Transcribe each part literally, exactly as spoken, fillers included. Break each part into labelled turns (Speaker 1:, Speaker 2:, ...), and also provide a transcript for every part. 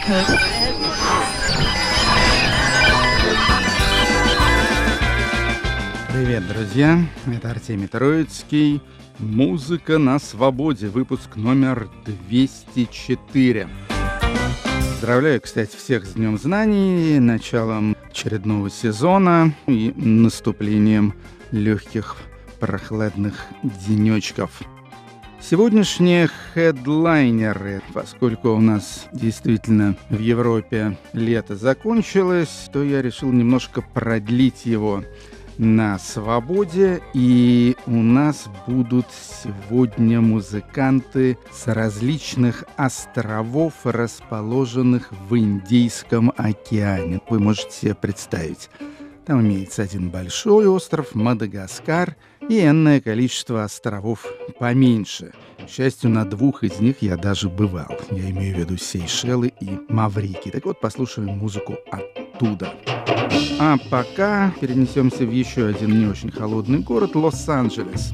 Speaker 1: Привет, друзья! Это Артемий Троицкий. Музыка на свободе. Выпуск номер двести четыре. Поздравляю, кстати, всех с Днем Знаний, началом очередного сезона и наступлением легких прохладных денечков. Сегодняшние хедлайнеры, поскольку у нас действительно в Европе лето закончилось, то я решил немножко продлить его на свободе, и у нас будут сегодня музыканты с различных островов, расположенных в Индийском океане. Вы можете себе представить. Там имеется один большой остров, Мадагаскар, и энное количество островов поменьше. К счастью, на двух из них я даже бывал. Я имею в виду Сейшелы и Маврикий. Так вот, послушаем музыку оттуда. А пока перенесемся в еще один не очень холодный город — Лос-Анджелес.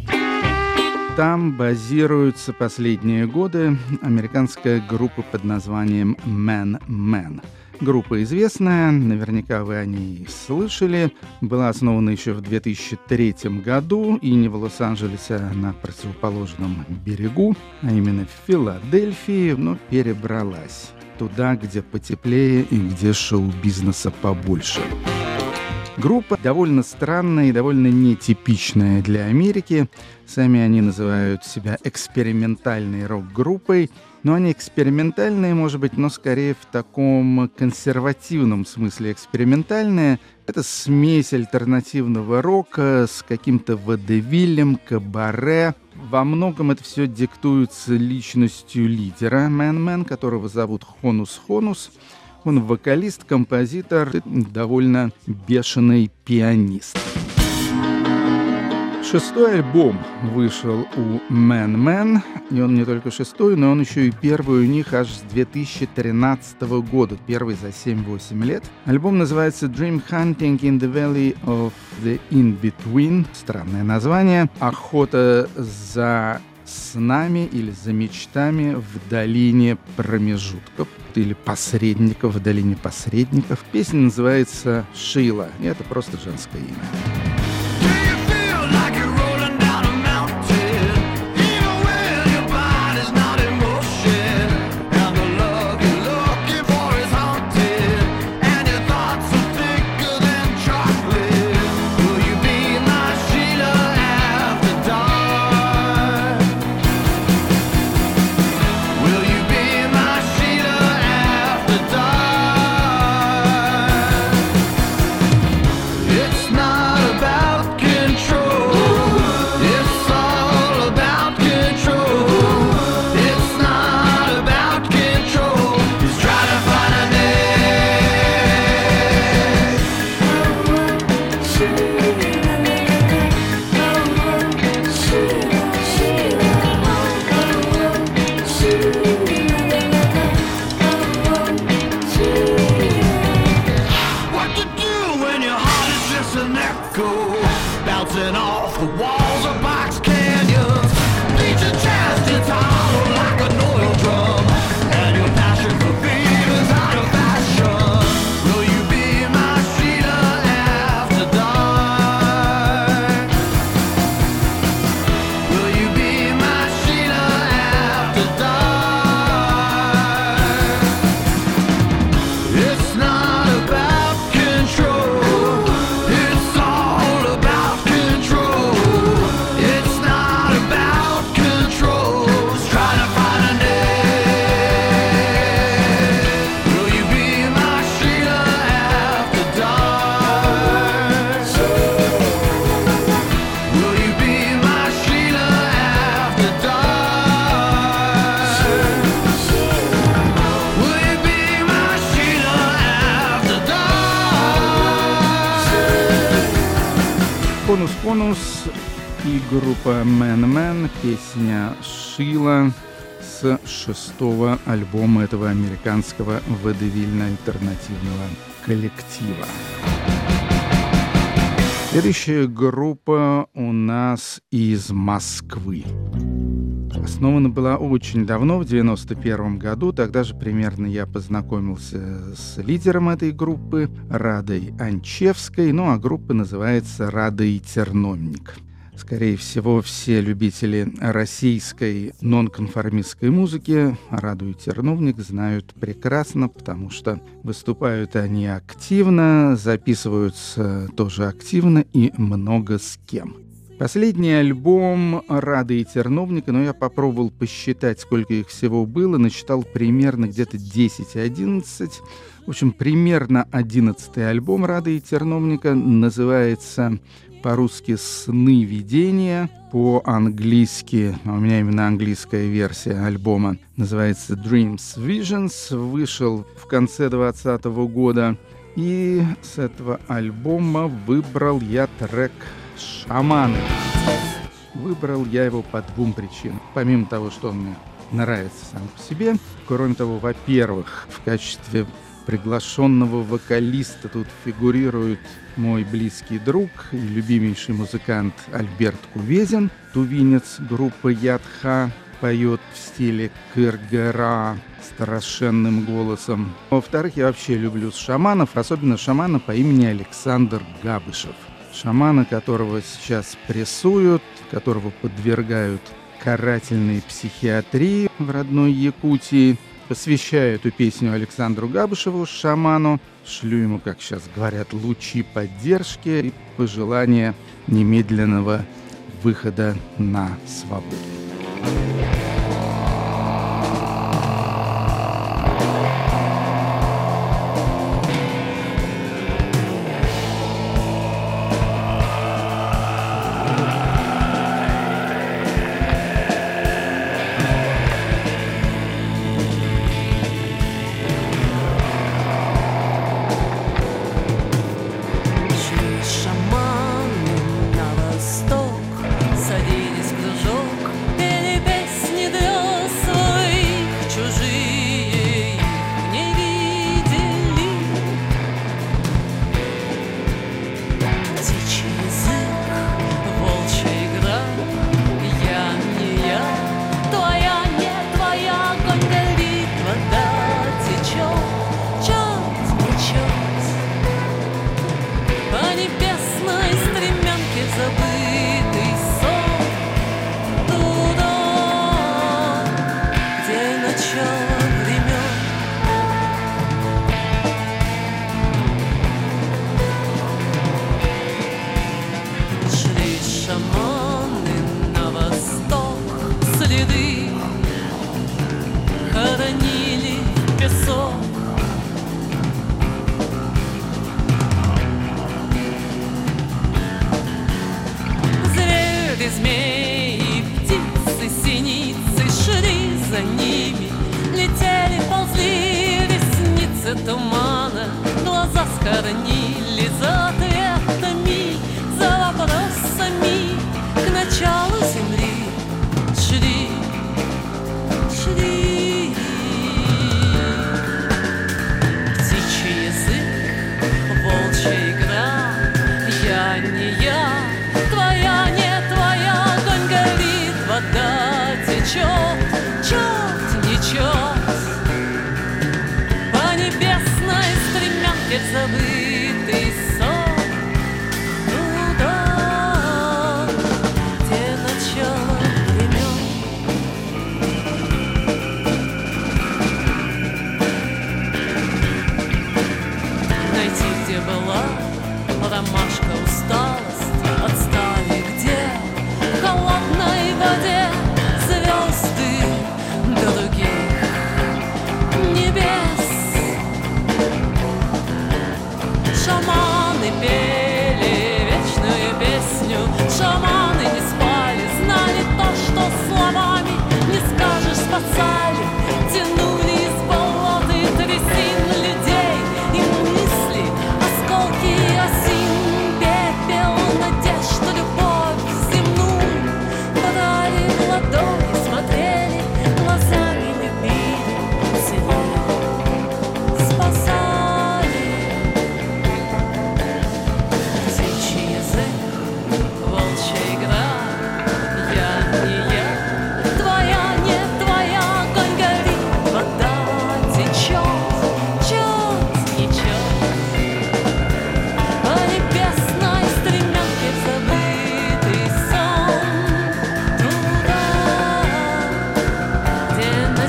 Speaker 1: Там базируется последние годы американская группа под названием Man Man. Группа известная, наверняка вы о ней слышали. Была основана еще в две тысячи третьем году, и не в Лос-Анджелесе, а на противоположном берегу, а именно в Филадельфии, но перебралась туда, где потеплее и где шоу-бизнеса побольше. Группа довольно странная и довольно нетипичная для Америки. Сами они называют себя экспериментальной рок-группой. Но они экспериментальные, может быть, но скорее в таком консервативном смысле экспериментальные. Это смесь альтернативного рока с каким-то водевилем, кабаре. Во многом это все диктуется личностью лидера Man Man, которого зовут Хонус Хонус. Он вокалист, композитор, довольно бешеный пианист. Шестой альбом вышел у Man Man, и он не только шестой, но он еще и первый у них аж с две тысячи тринадцатого года, первый за семь-восемь лет. Альбом называется Dream Hunting in the Valley of the In-Between, странное название, охота за снами или за мечтами в долине промежутков или посредников, в долине посредников. Песня называется «Шила», и это просто женское имя. Конус Конус и группа Man Man, песня «Шила» с шестого альбома этого американского водевильно-альтернативного коллектива. Следующая группа у нас из Москвы. Основана была очень давно, в девяносто первом году. Тогда же примерно я познакомился с лидером этой группы Радой Анчевской. Ну а группа называется «Рада и Терновник». Скорее всего, все любители российской нонконформистской музыки Раду и Терновник знают прекрасно, потому что выступают они активно, записываются тоже активно и много с кем. Последний альбом «Рады и Терновника», но я попробовал посчитать, сколько их всего было, насчитал примерно где-то десять-одиннадцать. В общем, примерно одиннадцатый альбом «Рады и Терновника» называется по-русски «Сны видения», по-английски, а у меня именно английская версия альбома, называется «Dreams Visions», вышел в конце двадцатого года. И с этого альбома выбрал я трек «Шаманы». Выбрал я его по двум причинам. Помимо того, что он мне нравится сам по себе, кроме того, во-первых, в качестве приглашенного вокалиста тут фигурирует мой близкий друг и любимейший музыкант Альберт Кувезин, тувинец группы Ядха, поет в стиле кыргыра страшенным голосом. Во-вторых, я вообще люблю шаманов, особенно шамана по имени Александр Габышев. Шамана, которого сейчас прессуют, которого подвергают карательной психиатрии в родной Якутии. Посвящаю эту песню Александру Габышеву, шаману. Шлю ему, как сейчас говорят, лучи поддержки и пожелания немедленного выхода на свободу.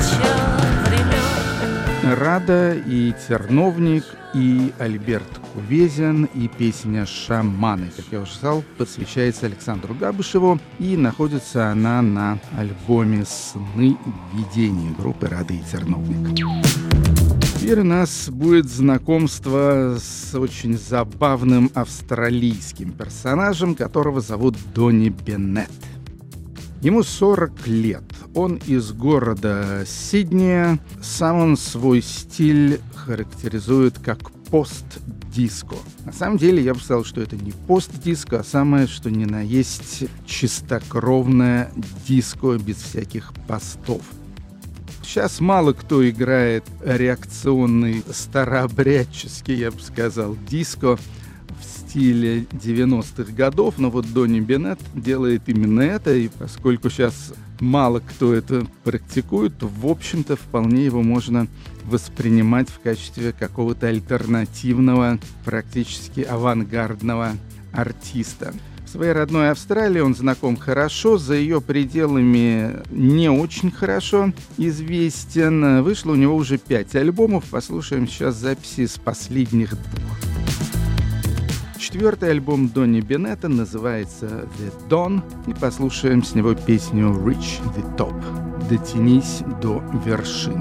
Speaker 1: Рада и Терновник, и Альберт Кувезин, и песня «Шаманы», как я уже сказал, посвящается Александру Габышеву, и находится она на альбоме «Сны видений» группы «Рада и Терновник». Теперь у нас будет знакомство с очень забавным австралийским персонажем, которого зовут Донни Беннет. Ему сорок лет. Он из города Сиднея. Сам он свой стиль характеризует как пост-диско. На самом деле, я бы сказал, что это не пост-диско, а самое, что ни на есть, чистокровное диско без всяких постов. Сейчас мало кто играет реакционный, старообрядческий, я бы сказал, диско в стиле девяностых годов, но вот Донни Беннет делает именно это, и поскольку сейчас мало кто это практикует, то, в общем-то, вполне его можно воспринимать в качестве какого-то альтернативного, практически авангардного артиста. В своей родной Австралии он знаком хорошо, за ее пределами не очень хорошо известен. Вышло у него уже пять альбомов, послушаем сейчас записи с последних двух. Четвертый альбом Донни Беннета называется «The Dawn», и послушаем с него песню «Reach the Top» — «Дотянись до вершины».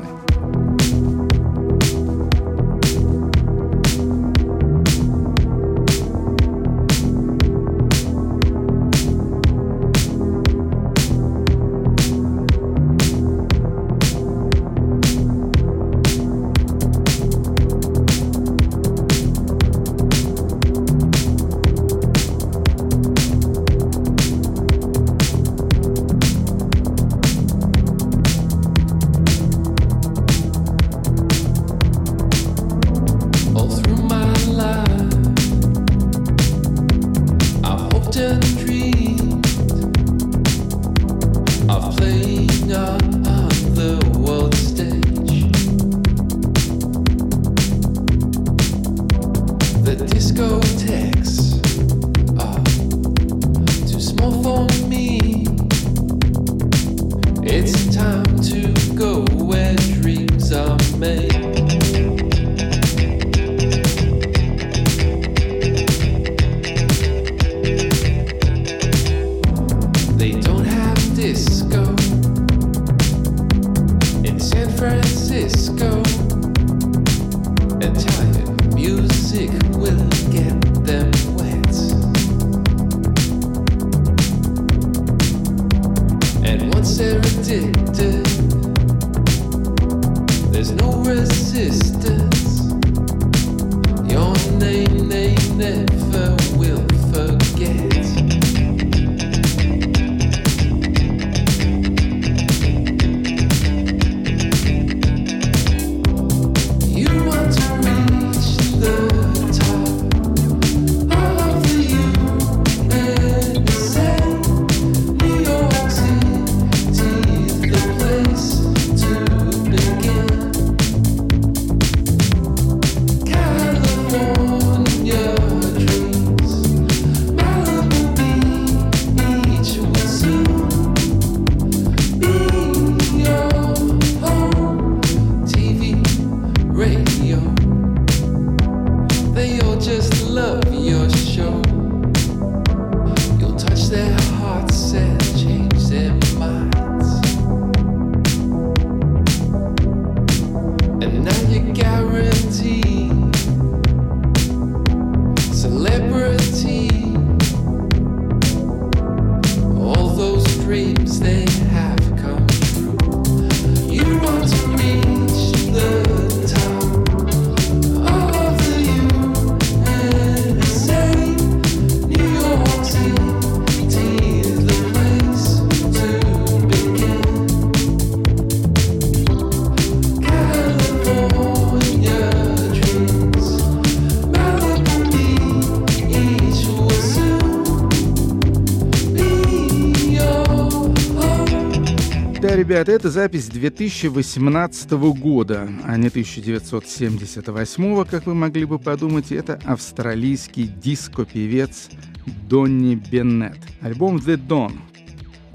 Speaker 1: Ребята, это запись две тысячи восемнадцатого года, а не тысяча девятьсот семьдесят восьмого, как вы могли бы подумать. Это австралийский диско-певец Донни Беннет. Альбом «The Dawn».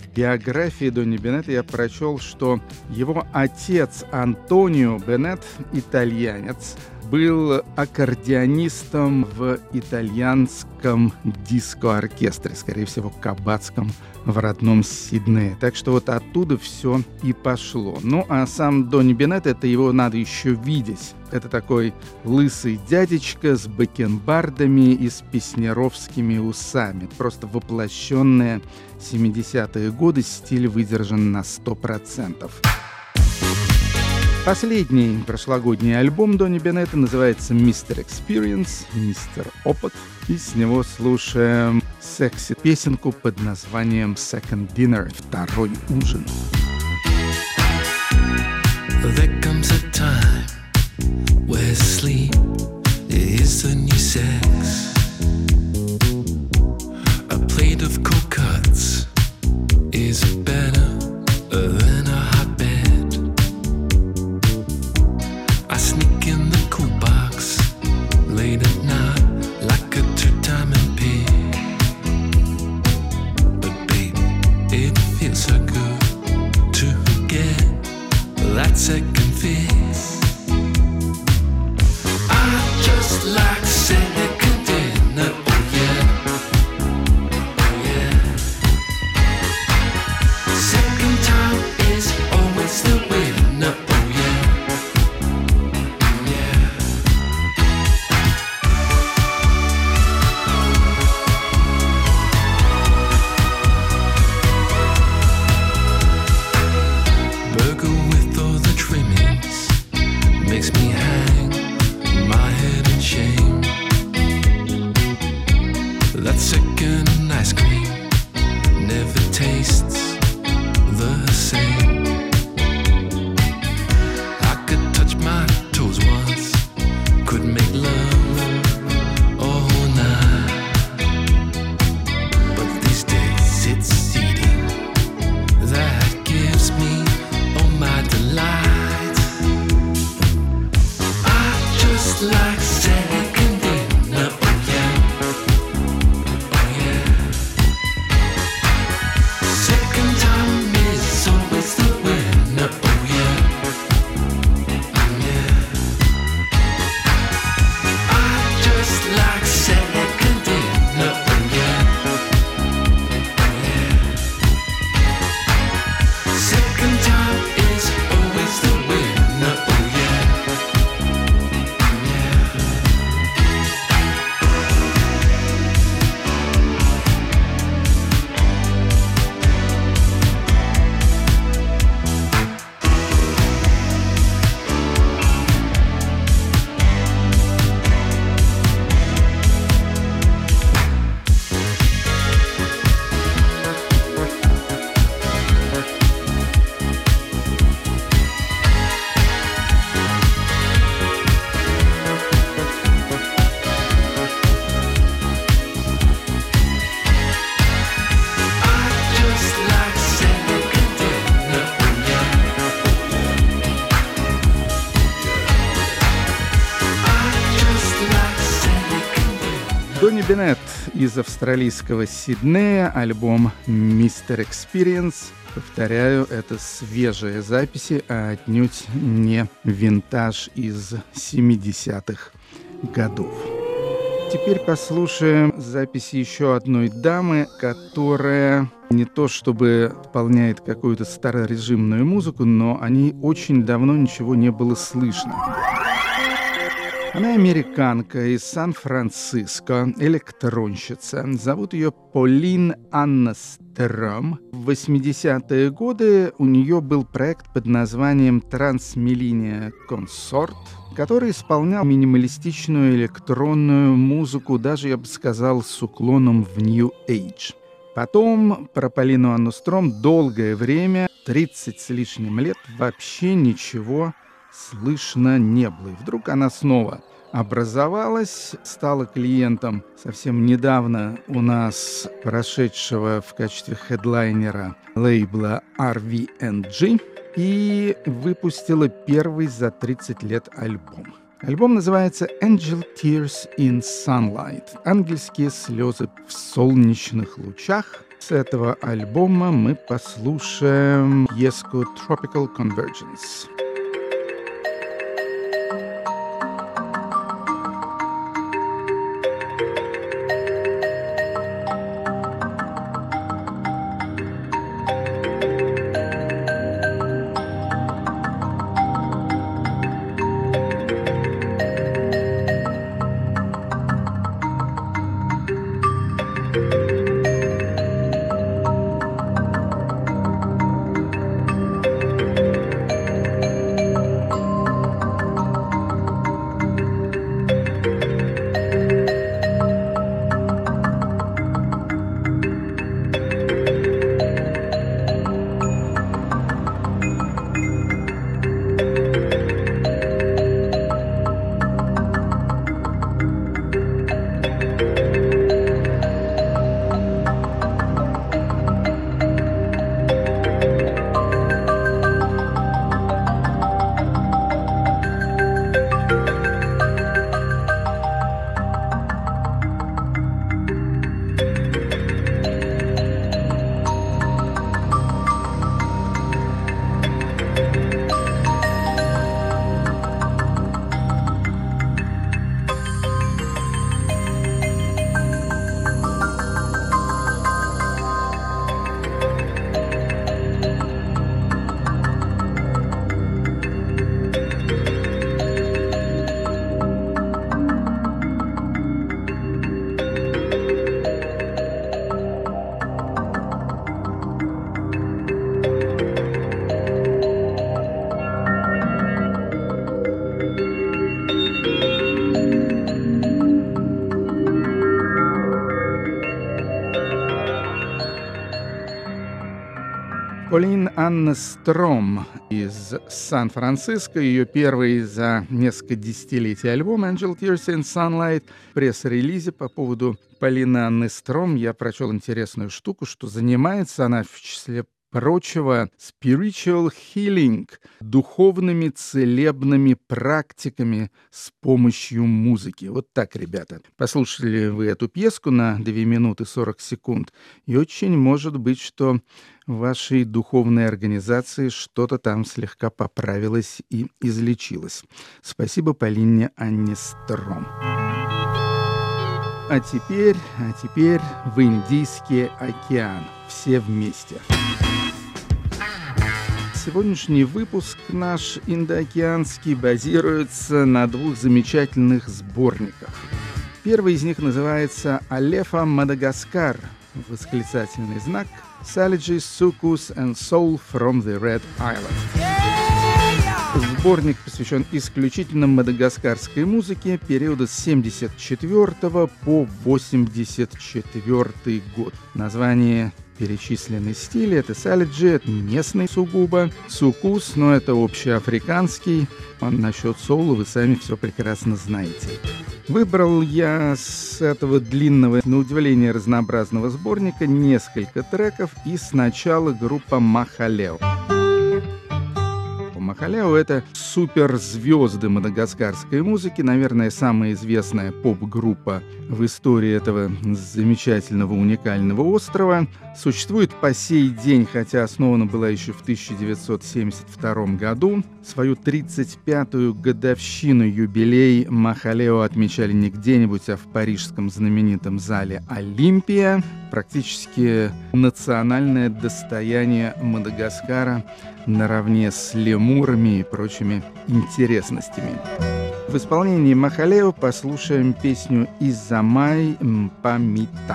Speaker 1: в биографии Донни Беннета я прочел, что его отец Антонио Беннет, итальянец, был аккордеонистом в итальянском диско-оркестре, скорее всего, кабацком в родном Сиднее. Так что вот оттуда все и пошло. Ну, а сам Донни Беннет, это его надо еще видеть. Это такой лысый дядечка с бакенбардами и с песнеровскими усами. Просто воплощенные семидесятые годы, стиль выдержан на сто процентов. Последний прошлогодний альбом Донни Беннета называется «мистер Experience», «мистер Опыт». И с него слушаем секси-песенку под названием «Second Dinner», «Второй ужин».
Speaker 2: There comes a time where sleep is the new sex. A plate of cold cuts is better than a hot bed. I sneak in the cool box late at night like a two-timing pig. But babe, it feels so good to get that second fix. I just like second dinner, oh yeah, oh yeah. Second time is always the winner, oh yeah, yeah. Burger with all the trimmings makes me hang my head in shame. That second ice cream never tastes the same. I could touch my toes once, could make love all night. But these days it's eating that gives me all my delight. I just like second dinner, oh yeah, oh yeah. Second time is always the winner, oh yeah, yeah. I just like second dinner, oh yeah, yeah. Second time is always the winner, oh yeah, yeah. I just like second dinner, oh yeah. I just like second dinner.
Speaker 1: Донни Беннет из австралийского Сиднея, альбом «мистер Experience». Повторяю, это свежие записи, а отнюдь не винтаж из семидесятых годов. Теперь послушаем записи еще одной дамы, которая не то чтобы исполняет какую-то старорежимную музыку, но о ней очень давно ничего не было слышно. Она американка из Сан-Франциско, электронщица. Зовут ее Полин Анна Стром. В восьмидесятые годы у нее был проект под названием «Трансмилления Консорт», который исполнял минималистичную электронную музыку, даже, я бы сказал, с уклоном в New Age. Потом про Полину Анну Стром долгое время, тридцать с лишним лет, вообще ничего слышно не было. И вдруг она снова образовалась, стала клиентом совсем недавно у нас прошедшего в качестве хедлайнера лейбла ар ви энд джи и выпустила первый за тридцать лет альбом. Альбом называется «Angel Tears in Sunlight» — «Ангельские слезы в солнечных лучах». С этого альбома мы послушаем пьеску Tropical Convergence. Полин Анна Стром из Сан-Франциско. Ее первый за несколько десятилетий альбом «Angel Tears in Sunlight». В пресс-релизе по поводу Полины Анны Стром я прочел интересную штуку, что занимается она, в числе прочего, spiritual healing, духовными целебными практиками с помощью музыки. Вот так, ребята. Послушали вы эту пьеску на две минуты сорок секунд, и очень может быть, что в вашей духовной организации что-то там слегка поправилось и излечилось. Спасибо Полине Анне Стром. А теперь, а теперь в Индийский океан. Все вместе. Сегодняшний выпуск наш индоокеанский базируется на двух замечательных сборниках. Первый из них называется «Алефа Мадагаскар», восклицательный знак, «Saliges, Sucus and Soul from the Red Island». Сборник посвящен исключительно мадагаскарской музыке периода с семьдесят четвёртого по восемьдесят четвёртый год. Название перечисленный стили — это салиджи, это местный сугубо, сукус, но это общеафриканский, а насчет соула вы сами все прекрасно знаете. Выбрал я с этого длинного, на удивление разнообразного сборника несколько треков, и сначала группа Махалео. Махалео — это суперзвезды мадагаскарской музыки, наверное, самая известная поп-группа в истории этого замечательного, уникального острова. Существует по сей день, хотя основана была еще в тысяча девятьсот семьдесят втором году. Свою тридцать пятую годовщину юбилей Махалео отмечали не где-нибудь, а в парижском знаменитом зале «Олимпия». Практически национальное достояние Мадагаскара наравне с лемурами и прочими интересностями. В исполнении Махалео послушаем песню «Изамай Мпамита».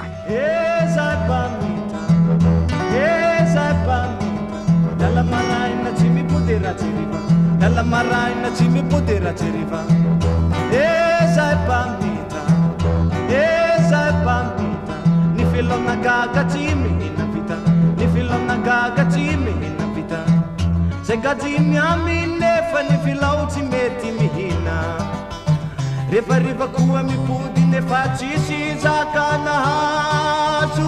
Speaker 3: Se gaji miami nefa ni filauti meti mihina Refa riva kua mi pudi nefa chishi zakana hazu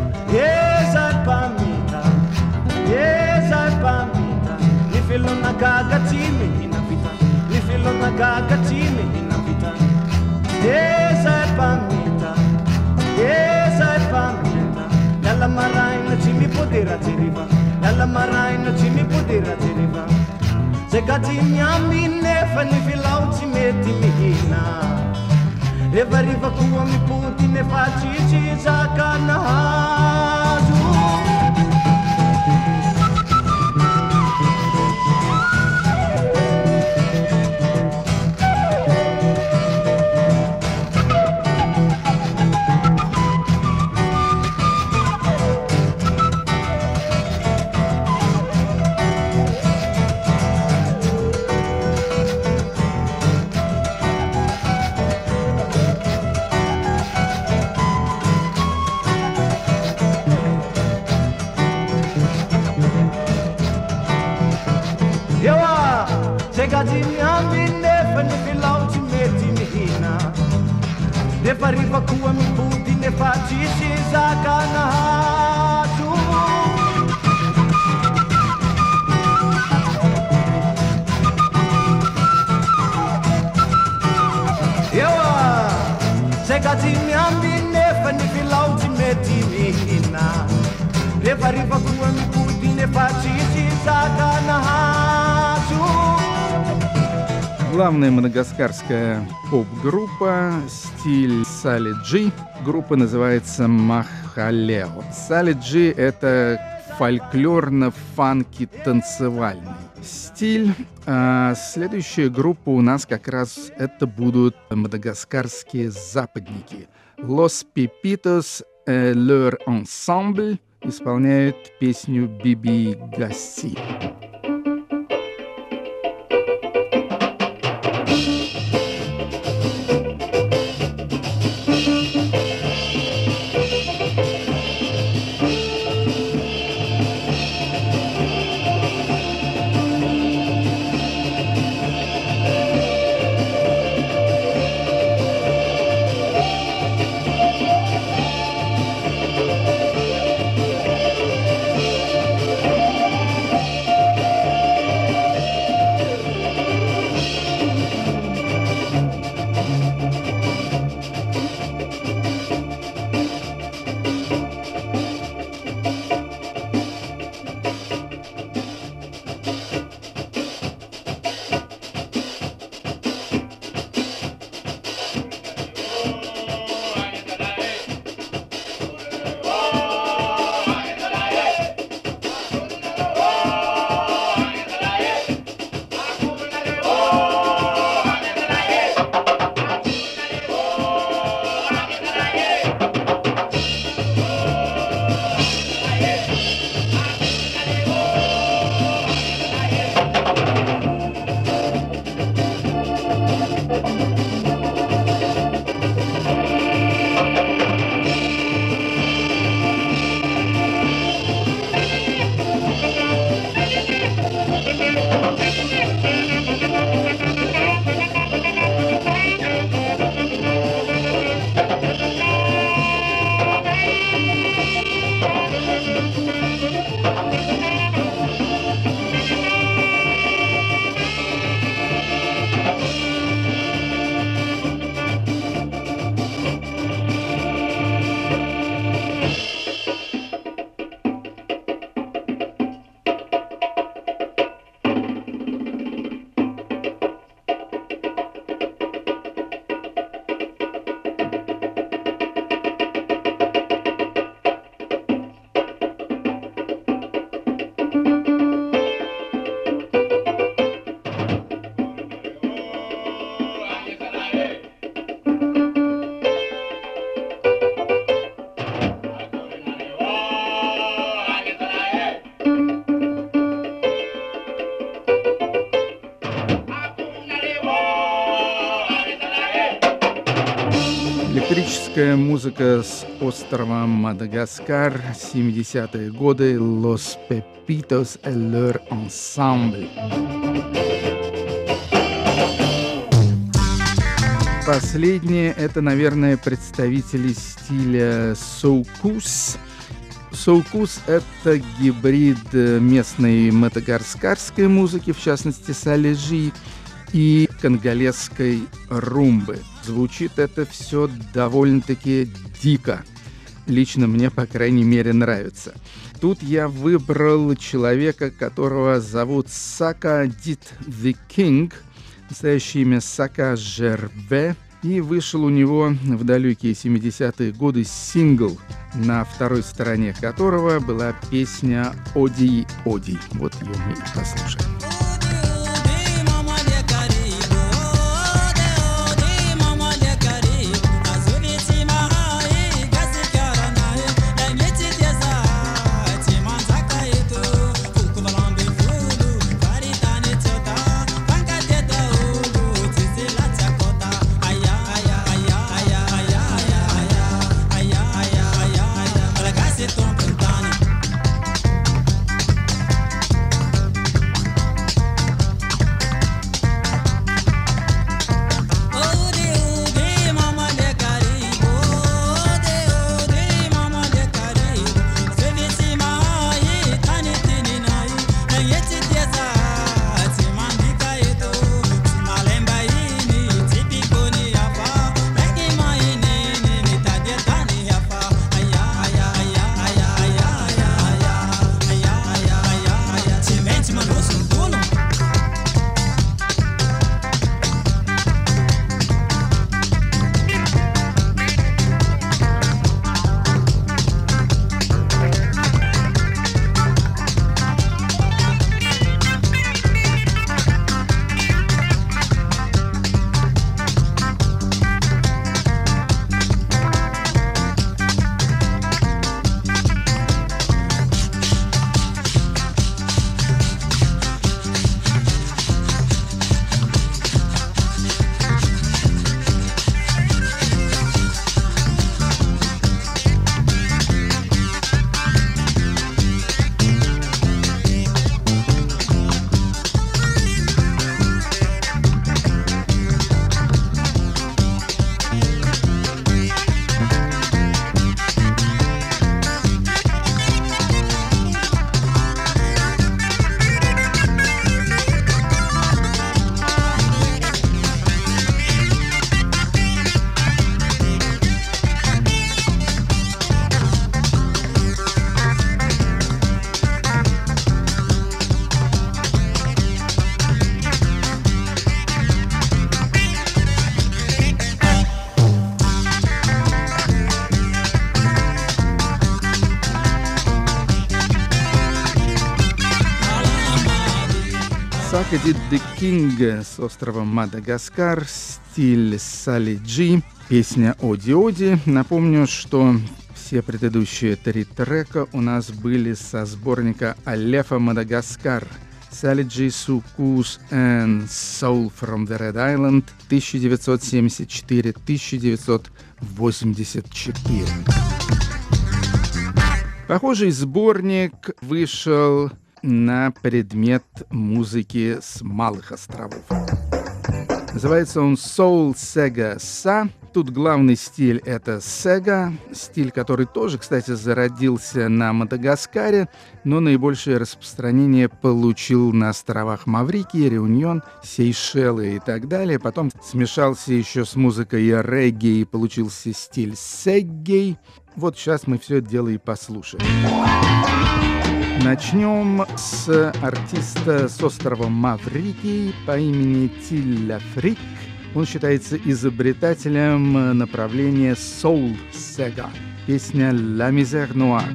Speaker 3: Yes, I pamita Yes, I pamita Ni filona gagatime hinavita esa e pamita esa e pamita dalla maraina ci mi potera deriva dalla maraina ci mi potera deriva se gatignami nefa ni filau ci metti mi hina e variva kuwa mi puti ne faci ci zakana hazu Arriva kuwa mi puti ne faci ci zakana hazu Yawa se gati mi ambi ne fani filau ci metti mi hina Arriva arriva kuwa mi puti ne faci ci zakana hazu
Speaker 1: Главная мадагаскарская поп-группа, стиль Сали Джи. Группа называется Махалео. Сали Джи — это фольклорно-фанки-танцевальный стиль. А следующая группа у нас как раз это будут мадагаскарские западники. Los Pepitos et leur ensemble исполняют песню Биби Гасси. Электрическая музыка с острова Мадагаскар, семидесятые годы, Los Pepitos et leur ensemble. Последние — это, наверное, представители стиля соукус. Соукус — это гибрид местной мадагаскарской музыки, в частности, салежи, и конголезской румбы. Звучит это все довольно-таки дико. Лично мне, по крайней мере, нравится. Тут я выбрал человека, которого зовут Сака Дит The King, настоящее имя Сака Жербе, и вышел у него в далекие семидесятые годы сингл, на второй стороне которого была песня «Оди, Оди». Вот ее мы и послушаем. Сака Дит The King с острова Мадагаскар, стиль Салиджи, песня «Оди Оди». Напомню, что все предыдущие три трека у нас были со сборника «Алефа Мадагаскар» Салиджи Sukous and Soul from the Red Island тысяча девятьсот семьдесят четыре — тысяча девятьсот восемьдесят четыре. Похожий сборник вышел на предмет музыки с малых островов. Называется он Soul Sega Sa. Тут главный стиль — это Sega, стиль, который тоже, кстати, зародился на Мадагаскаре, но наибольшее распространение получил на островах Маврикии, Реуньон, Сейшелы и так далее. Потом смешался еще с музыкой регги и получился стиль сеггей. Вот сейчас мы все это дело и послушаем. Начнем с артиста с острова Маврикий по имени Тилля Фрик. Он считается изобретателем направления Soul Sega. Песня «La Misère Noire».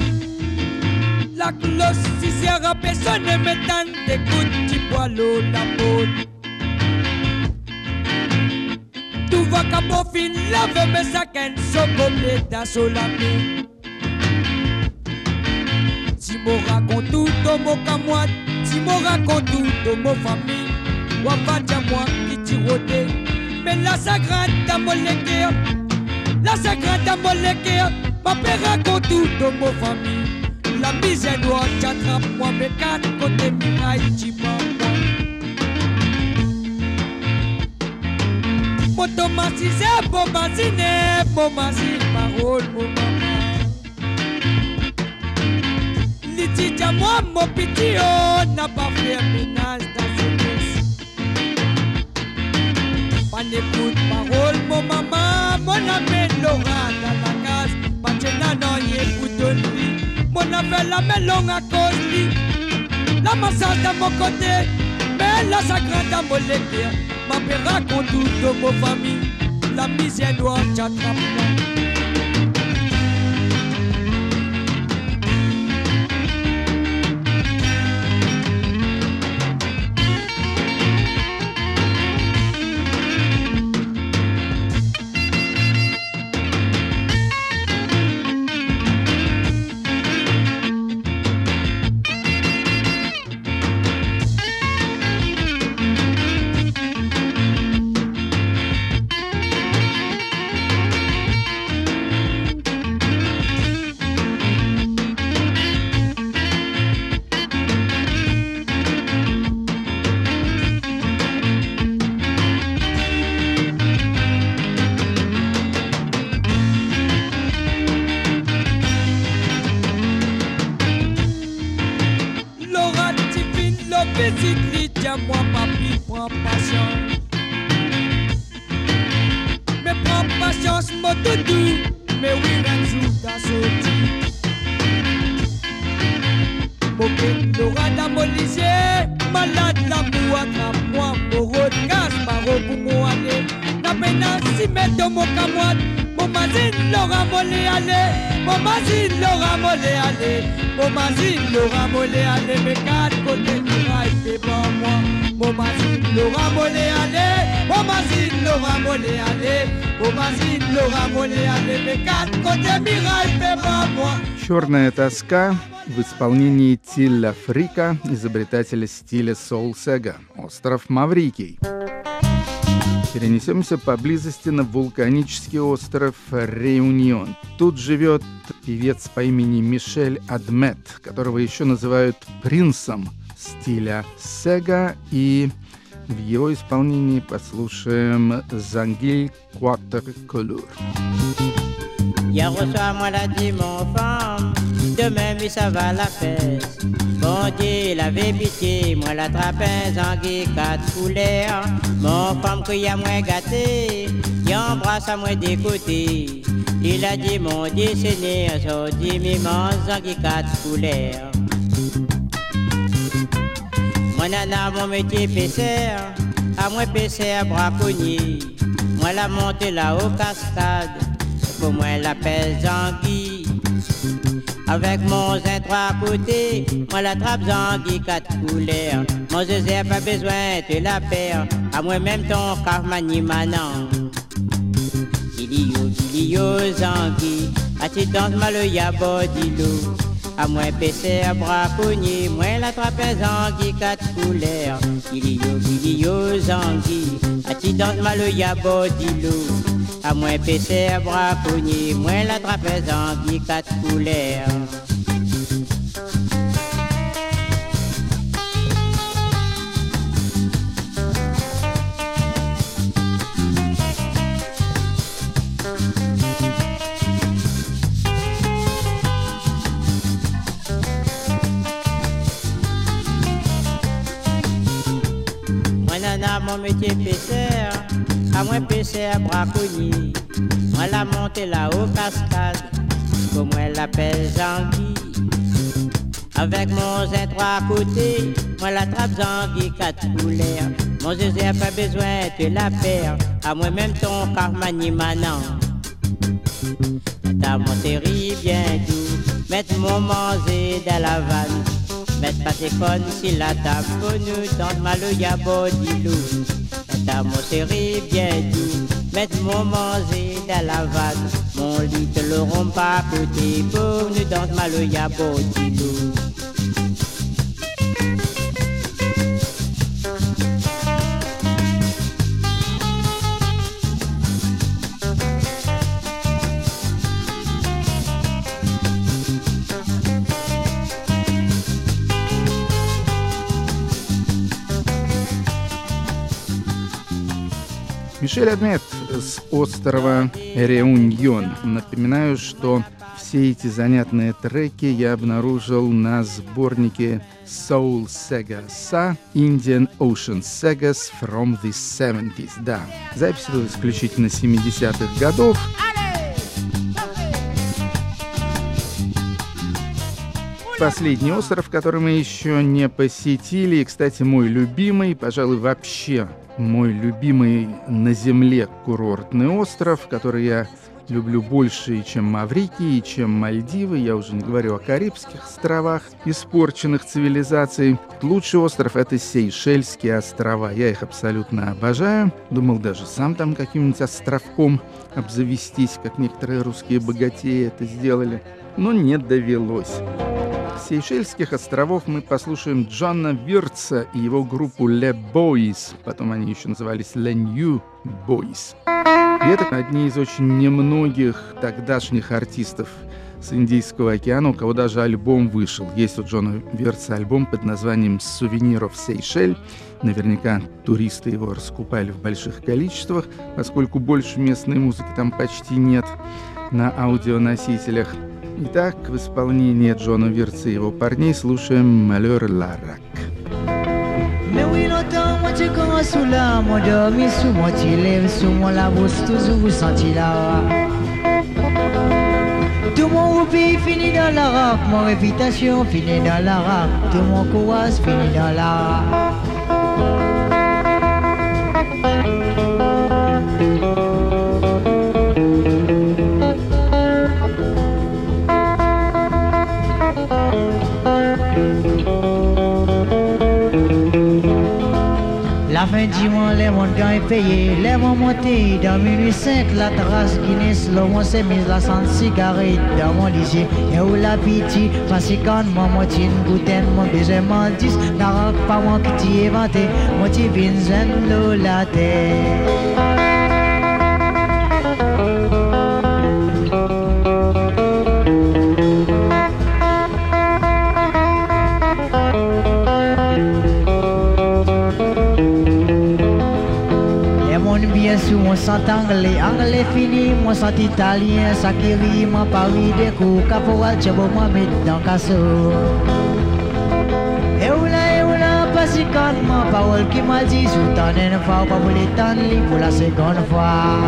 Speaker 4: La cloche, si sera personne ne m'étend d'écoute, tu bois l'eau, la peau. Tu vas qu'à bon fin, lave mes sacs, so complète, so la main. Si mo raconte tout, ton mot qu'à moi, si mo raconte tout, ton mot famille, ou pas de moi qui tirote. Mais la sagrade à mon légué, la sagrade à mon légué, ma père raconte tout, ton mot famille. La misère noire, j'attrape moi mes quatre côtés mirailles, tu m'envoies. Mon Thomas, si c'est bon, ma ciné, bon, ma ciné, parole, mon maman. Litija moi, mon petit, oh, n'a pas fait ménage dans ce laisse. Pas n'écoute parole, mon maman, mon ami Laura dans la case. Pas de nanan, écoute lui. Mon appel la melon à cause lui. La massage dans mon côté, mais la sacrée dans mon légué. Ma père raconte toute mon famille. La misère noire t'attrape. Moi papi prends patience. Mais prends patience mon doudou. Mais oui un jour t'as sorti. Moquette Laura dans mon lycée. Malade l'amour attrape-moi. Moro de casse paro pour moi aller. La peine si mettre mon camoite. Mon mazine Laura molé aller. Mon mazine Laura molé aller. Mon mazine Laura molé aller. Mes quatre côtés muraille fait pour moi. Mon mazine Laura molé aller. Mon mazine Laura molé aller. Mon mazine Laura molé aller. Mes quatre côtés muraille fait pour moi.
Speaker 1: «Черная тоска» в исполнении Тилля Фрика, изобретателя стиля соул-сега, остров Маврикий. Перенесемся поблизости на вулканический остров Реюнион. Тут живет певец по имени Мишель Адмет, которого еще называют принцем стиля сега, и в его исполнении послушаем «Zanguille Quatre Couleurs».
Speaker 5: Hier au soir, moi l'a dit mon femme, demain, oui, ça va la fesse. Bon Dieu, il avait pitié, moi l'attrapais en guille quatre couleurs. Mon femme qu'il y a moins gâté, il embrasse à moi des côtés. Il a dit, mon Dieu, Seigneur, so dit, mi mange en guille quatre couleurs. Moi, nana, mon métier pêcheur, à moi pêcheur braconnier. Moi, la montée là-haut cascade. Pour moi la pèse Zanguille. Avec mon zin trois côtés, moi la trappe Zanguille quatre couleurs. Mon zézé pas besoin de la paire, à moi-même ton carmani manant. Gilio, gilio Zanguille, à ti danse mal ya bodilo. À moi pêcher à braconnier, moi la trappe Zanguille quatre couleurs. Gilio, gilio Zanguille, à ti danse mal ya bodilo. À moins pêcher à braconnier, moins la trapèze en guille quatre couleurs. Moi nana mon métier pêcheur, à moins pêcher à braconnier. Moi la monte là-haut cascade, comme moi l'appelle Zanguille. Avec mon zin trois côtés, moi la trappe Zanguille quatre couleurs. Mon zézé a pas besoin de la paire, à moi-même ton carmani manant. T'as mon série bien doux, mettre mon manger dans la vanne. Mettre pas tes connes si la table pour nous dans ma loya bodilou. T'as mon série bien doux, mettre mon manger dans la vanne. Mon lit te l'auront pas côté pour nous dans ma loya bodilou.
Speaker 1: Мишель Адмет с острова Реуньон. Напоминаю, что все эти занятные треки я обнаружил на сборнике Soul Sega Sa Indian Ocean Sagas from the seventies. Да, запись была исключительно семидесятых годов. Последний остров, который мы еще не посетили, и, кстати, мой любимый, пожалуй, вообще мой любимый на Земле курортный остров, который я люблю больше, чем Маврикий, чем Мальдивы. Я уже не говорю о Карибских островах, испорченных цивилизацией. Лучший остров — это Сейшельские острова. Я их абсолютно обожаю. Думал даже сам там каким-нибудь островком обзавестись, как некоторые русские богатеи это сделали. Но не довелось. С Сейшельских островов мы послушаем Джона Вирца и его группу Le Boys. Потом они еще назывались Le New Boys. И это одни из очень немногих тогдашних артистов с Индийского океана, у кого даже альбом вышел. Есть у Джона Вирца альбом под названием «Souvenir of Seychelles». Наверняка туристы его раскупали в больших количествах, поскольку больше местной музыки там почти нет на аудионосителях. Итак, в исполнении Джона Вирца и его парней слушаем «Malheur Larac».
Speaker 6: Mais oui, longtemps, moi tu commences sous là, mon dormi sous mon lève sous mon labousse, toujours vous senti là. Tout mon roupi finit dans la rap, mon réputation finit dans la rap, tout mon courage finit dans la rap. La fin du mois, les montants est payé, les mots montés dans minuit cinq, la terrasse Guinness, le monde s'est mis la sans cigarette dans mon lycée. Et où la pitié, parce que quand mon motine goûtait, mon baiser m'en dit, n'arrête pas mon qui t'y inventé, mon petit Vincent l'eau la tête. Sous mon sang anglais, anglais fini, mon sang italien, ça qui rit, mon Paris des coups, caporal, tchabo, moi, met dans casso. Et où là, et où là, pas si quand, mon parole qui m'a dit, sous ton une fois, pas pour les temps, pour la seconde fois.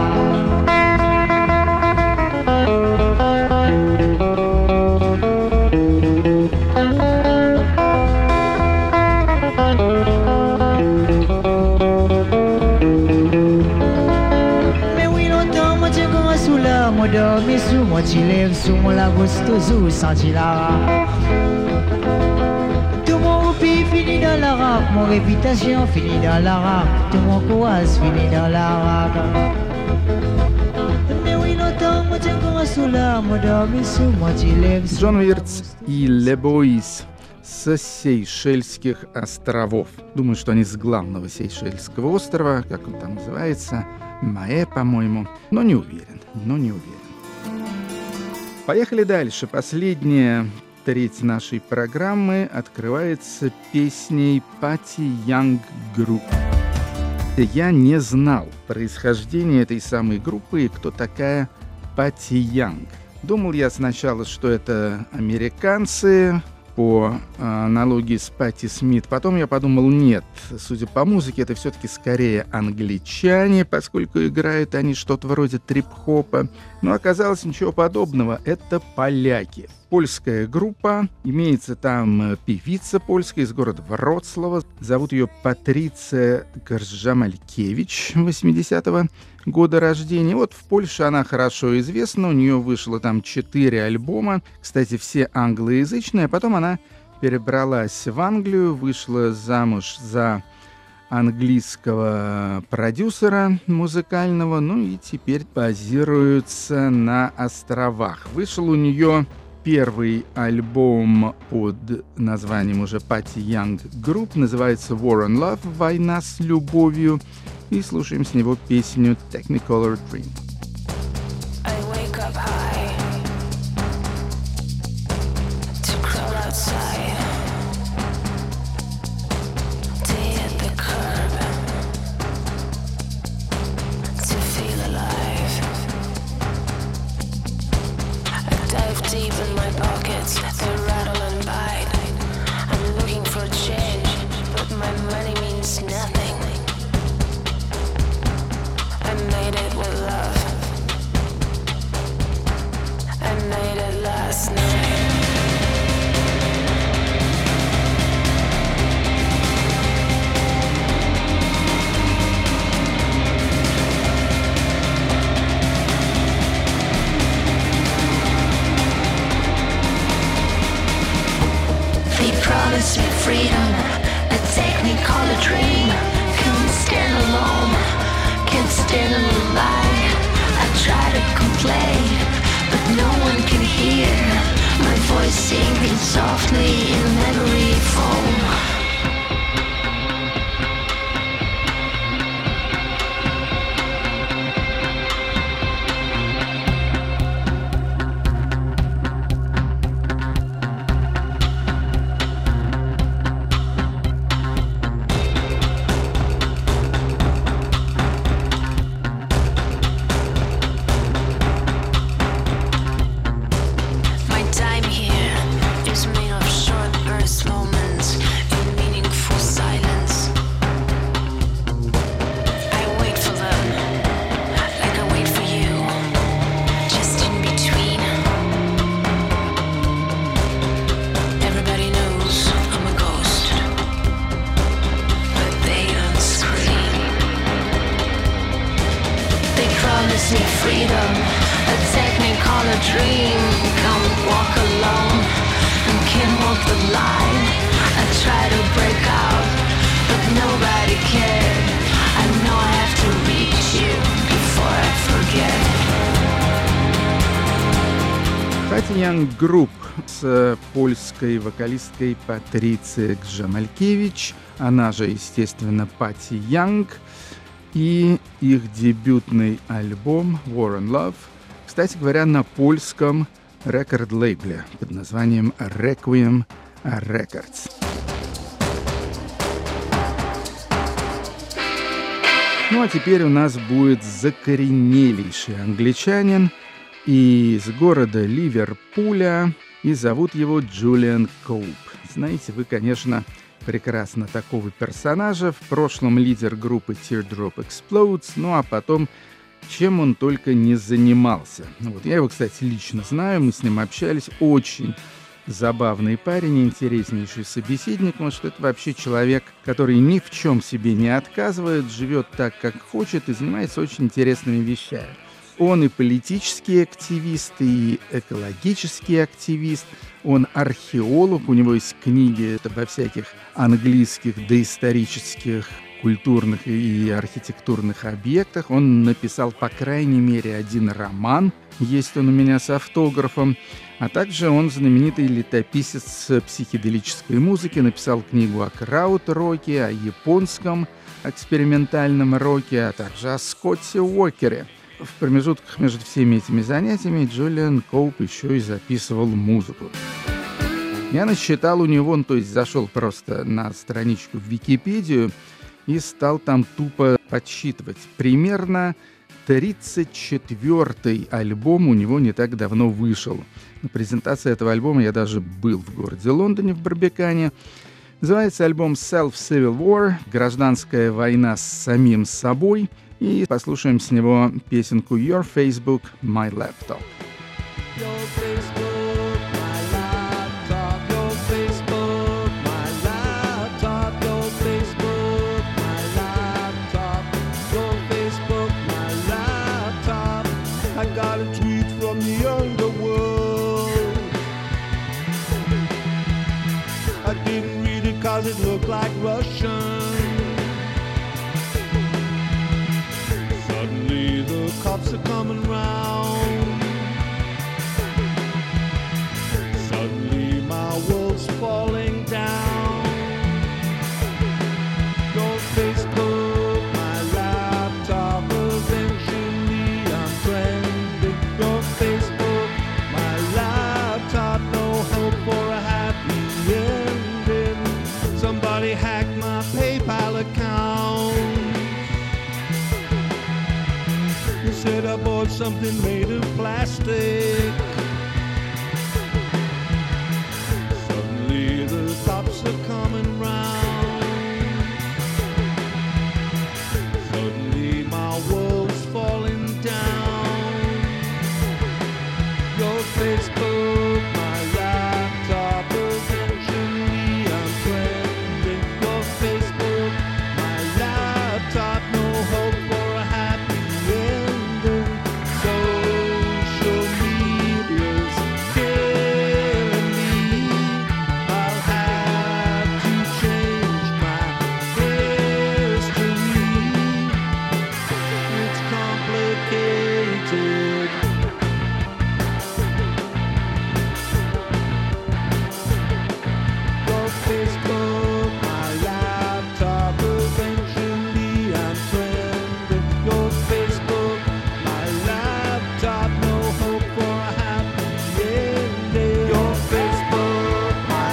Speaker 6: Moi dormi sous mon lève sous mon labousse, toujours senti la. Tout mon roupi finit dans la rap, mon réputation finit dans la rap, tout mon courage finit dans la rap. Mais oui, longtemps, moi tiens comme sous là, moi dormi sous mon lève.
Speaker 1: Джон Вирц и Le Boys с Сейшельских островов. Думаю, что они с главного Сейшельского острова, как он там называется, Маэ, по-моему, но не уверен, но не уверен. Поехали дальше. Последняя треть нашей программы открывается песней Patty Young Group. Я не знал происхождения этой самой группы и кто такая Patty Young. Думал я сначала, что это американцы, по аналогии с Патти Смит. Потом я подумал, нет, судя по музыке, это все-таки скорее англичане, поскольку играют они что-то вроде трип-хопа. Но оказалось ничего подобного, это поляки. Польская группа, имеется там певица польская из города Вроцлава. Зовут ее Патриция Гржамалькевич, восьмидесятого года рождения. Вот в Польше она хорошо известна, у нее вышло там четыре альбома, кстати, все англоязычные, а потом она перебралась в Англию, вышла замуж за английского продюсера музыкального, ну и теперь базируется на островах. Вышел у нее первый альбом под названием уже Patty Young Group, называется War and Love, «Война с любовью», и слушаем с него песню Technicolor Dream.
Speaker 7: Feel alive. deep in my pockets, they rattle and bite. I'm looking for change, but my money means nothing. I made it with love. I made it last night.
Speaker 8: Promise me freedom, a technical a dream. Can't stand alone, can't stand in the light. I try to complain, but no one can hear my voice singing softly in memory foam.
Speaker 1: Young Group с польской вокалисткой Патрицией Гжемалькевич, она же, естественно, Пати Янг, и их дебютный альбом War and Love, кстати говоря, на польском рекорд-лейбле под названием Requiem Records. Ну а теперь у нас будет закоренелейший англичанин из города Ливерпуля, и зовут его Джулиан Коуп. Знаете вы, конечно, прекрасно такого персонажа. В прошлом лидер группы Teardrop Explodes, ну а потом чем он только не занимался. Вот, я его, кстати, лично знаю, мы с ним общались. Очень забавный парень, интереснейший собеседник, потому что это вообще человек, который ни в чем себе не отказывает, живет так, как хочет и занимается очень интересными вещами. Он и политический активист, и экологический активист, он археолог, у него есть книги обо всяких английских доисторических, культурных и архитектурных объектах. Он написал, по крайней мере, один роман, есть он у меня с автографом, а также он знаменитый летописец психоделической музыки, написал книгу о краут-роке, о японском экспериментальном роке, а также о Скотте Уокере. В промежутках между всеми этими занятиями Джулиан Коуп еще и записывал музыку. Я насчитал у него, ну, то есть зашел просто на страничку в Википедию и стал там тупо подсчитывать. Примерно тридцать четвёртый альбом у него не так давно вышел. На презентации этого альбома я даже был в городе Лондоне, в Барбикане. Называется альбом Self-Civil War, гражданская война с самим собой. И послушаем с него песенку Your Facebook, My Laptop.
Speaker 3: Your Facebook, my laptop. Your Facebook, my laptop. Your Facebook, my laptop. Your Facebook, my laptop. I got a tweet from the underworld. I didn't read it cause it looked like Russian. The cops are coming round. Suddenly my world's falling down. Your Facebook, my laptop. Eventually I'm trending. Your Facebook, my laptop. No hope for a happy ending. Somebody hacked my PayPal account. Said I bought something made of plastic.
Speaker 2: Facebook, my laptop, eventually I'm trending. Your Facebook, my laptop, no hope for a happy ending. Social media's killing me. I'll have to change my history. It's complicated. Your Facebook, my laptop, eventually I'm trending. Your Facebook, my laptop, no hope for a happy ending. Your Facebook, my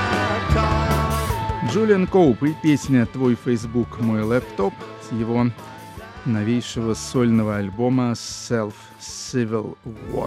Speaker 2: laptop.
Speaker 1: Джулиан Коуп и песня «Твой Facebook, мой лэптоп» с его новейшего сольного альбома Self Civil War.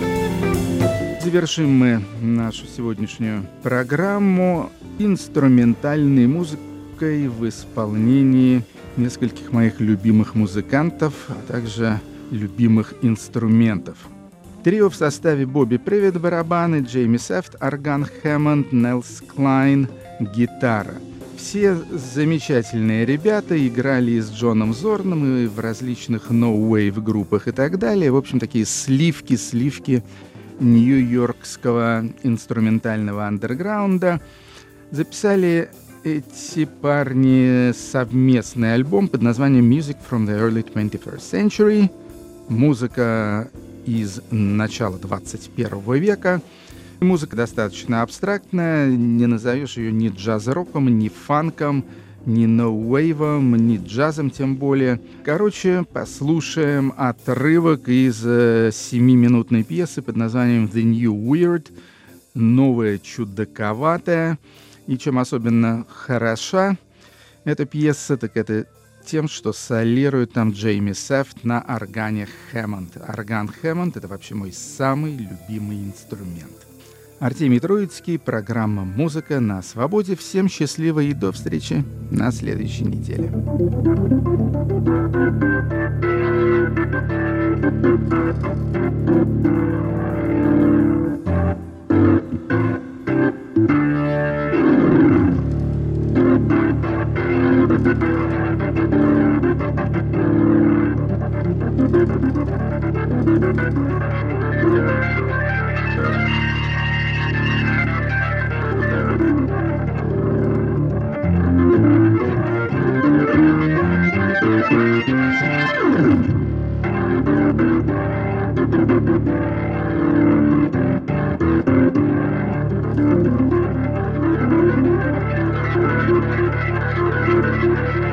Speaker 1: Завершим мы нашу сегодняшнюю программу инструментальной музыкой в исполнении нескольких моих любимых музыкантов, а также любимых инструментов. Трио в составе Бобби Привет барабаны, Джейми Сефт орган, Хэммонд, Нелс Клайн гитара. Все замечательные ребята, играли и с Джоном Зорном, и в различных no-wave группах и так далее. В общем, такие сливки-сливки нью-йоркского инструментального андерграунда. Записали эти парни совместный альбом под названием Music from the Early twenty-first Century. Музыка из начала двадцать первого века. Музыка достаточно абстрактная, не назовешь ее ни джаз-роком, ни фанком, ни ноу-вейвом, ни джазом тем более. Короче, послушаем отрывок из э, семиминутной пьесы под названием The New Weird, новая чудаковатая. И чем особенно хороша эта пьеса, так это тем, что солирует там Джейми Сефт на органе Хэммонд. Орган Хэммонд — это вообще мой самый любимый инструмент. Артемий Троицкий, программа «Музыка на свободе». Всем счастливо и до встречи на следующей неделе. Thank you.